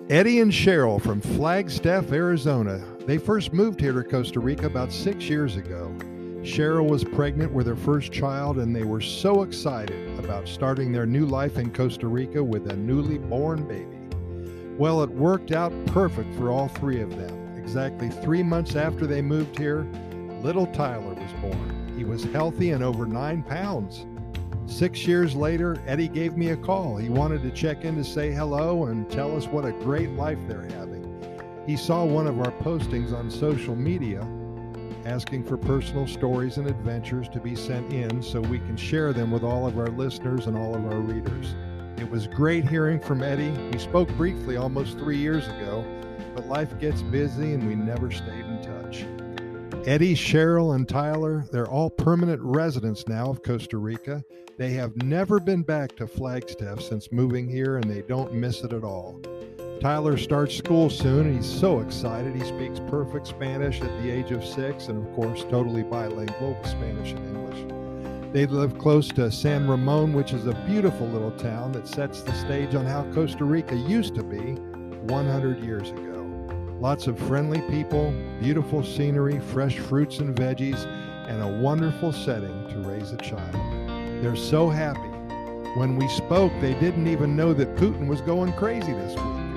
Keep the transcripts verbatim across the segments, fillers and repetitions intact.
Eddie and Cheryl from Flagstaff, Arizona. They first moved here to Costa Rica about six years ago. Cheryl was pregnant with her first child, and they were so excited about starting their new life in Costa Rica with a newly born baby. Well, it worked out perfect for all three of them. Exactly three months after they moved here, little Tyler was born. He was healthy and over nine pounds. Six years later, Eddie gave me a call. He wanted to check in to say hello and tell us what a great life they're having. He saw one of our postings on social media asking for personal stories and adventures to be sent in so we can share them with all of our listeners and all of our readers. It was great hearing from Eddie. We spoke briefly almost three years ago, but life gets busy and we never stayed in touch. Eddie, Cheryl, and Tyler, they're all permanent residents now of Costa Rica. They have never been back to Flagstaff since moving here, and they don't miss it at all. Tyler starts school soon, and he's so excited. He speaks perfect Spanish at the age of six, and of course, totally bilingual with Spanish and English. They live close to San Ramon, which is a beautiful little town that sets the stage on how Costa Rica used to be one hundred years ago. Lots of friendly people, beautiful scenery, fresh fruits and veggies, and a wonderful setting to raise a child. They're so happy. When we spoke, they didn't even know that Putin was going crazy this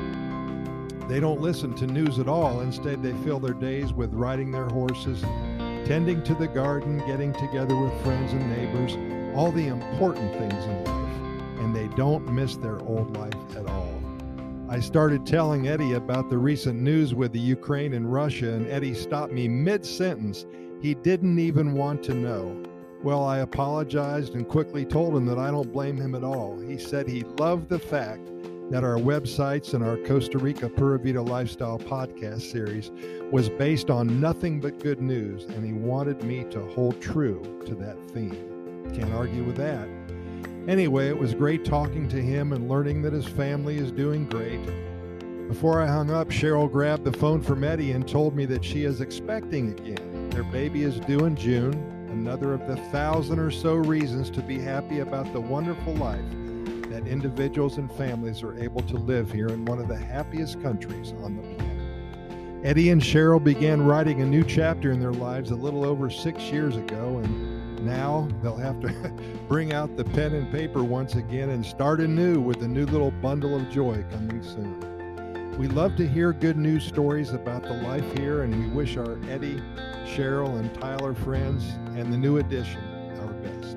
week. They don't listen to news at all. Instead, they fill their days with riding their horses, tending to the garden, getting together with friends and neighbors, all the important things in life, and they don't miss their old life at all. I started telling Eddie about the recent news with the Ukraine and Russia, and Eddie stopped me mid-sentence. He didn't even want to know. Well, I apologized and quickly told him that I don't blame him at all. He said he loved the fact that our websites and our Costa Rica Pura Vida Lifestyle podcast series was based on nothing but good news, and he wanted me to hold true to that theme. Can't argue with that. Anyway, it was great talking to him and learning that his family is doing great. Before I hung up, Cheryl grabbed the phone from Eddie and told me that she is expecting again. Their baby is due in June, another of the thousand or so reasons to be happy about the wonderful life that individuals and families are able to live here in one of the happiest countries on the planet. Eddie and Cheryl began writing a new chapter in their lives a little over six years ago, and now they'll have to bring out the pen and paper once again and start anew with a new little bundle of joy coming soon. We love to hear good news stories about the life here, and we wish our Eddie, Cheryl, and Tyler friends and the new addition our best.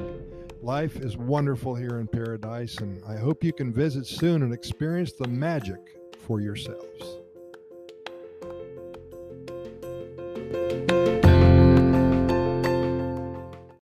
Life is wonderful here in paradise, and I hope you can visit soon and experience the magic for yourselves.